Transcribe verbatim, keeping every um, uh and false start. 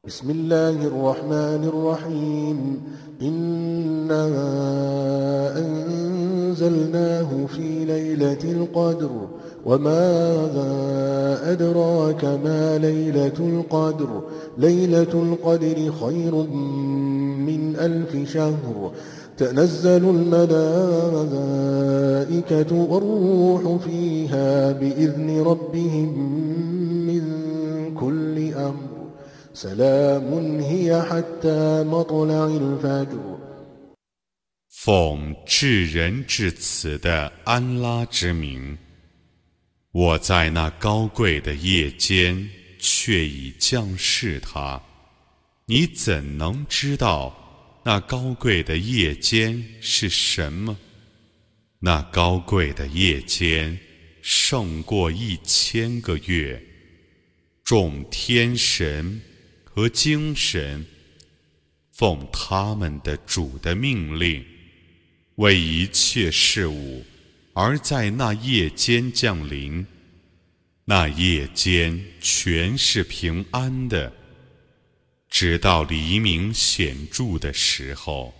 بسم الله الرحمن الرحيم إنا أنزلناه في ليلة القدر وما أدراك ما ليلة القدر ليلة القدر خير من ألف شهر تنزل الملائكة والروح فيها بإذن ربهم من كل أمر سلام هي حتى مطلع الفجر 奉至仁至慈的安拉之名，我在那高贵的夜间却已降示它。你怎能知道那高贵的夜间是什么？那高贵的夜间胜过一千个月。众天神和精神奉他们的主的命令，为一切事物而在那夜间降临。那夜间全是平安的，直到黎明显著的时候。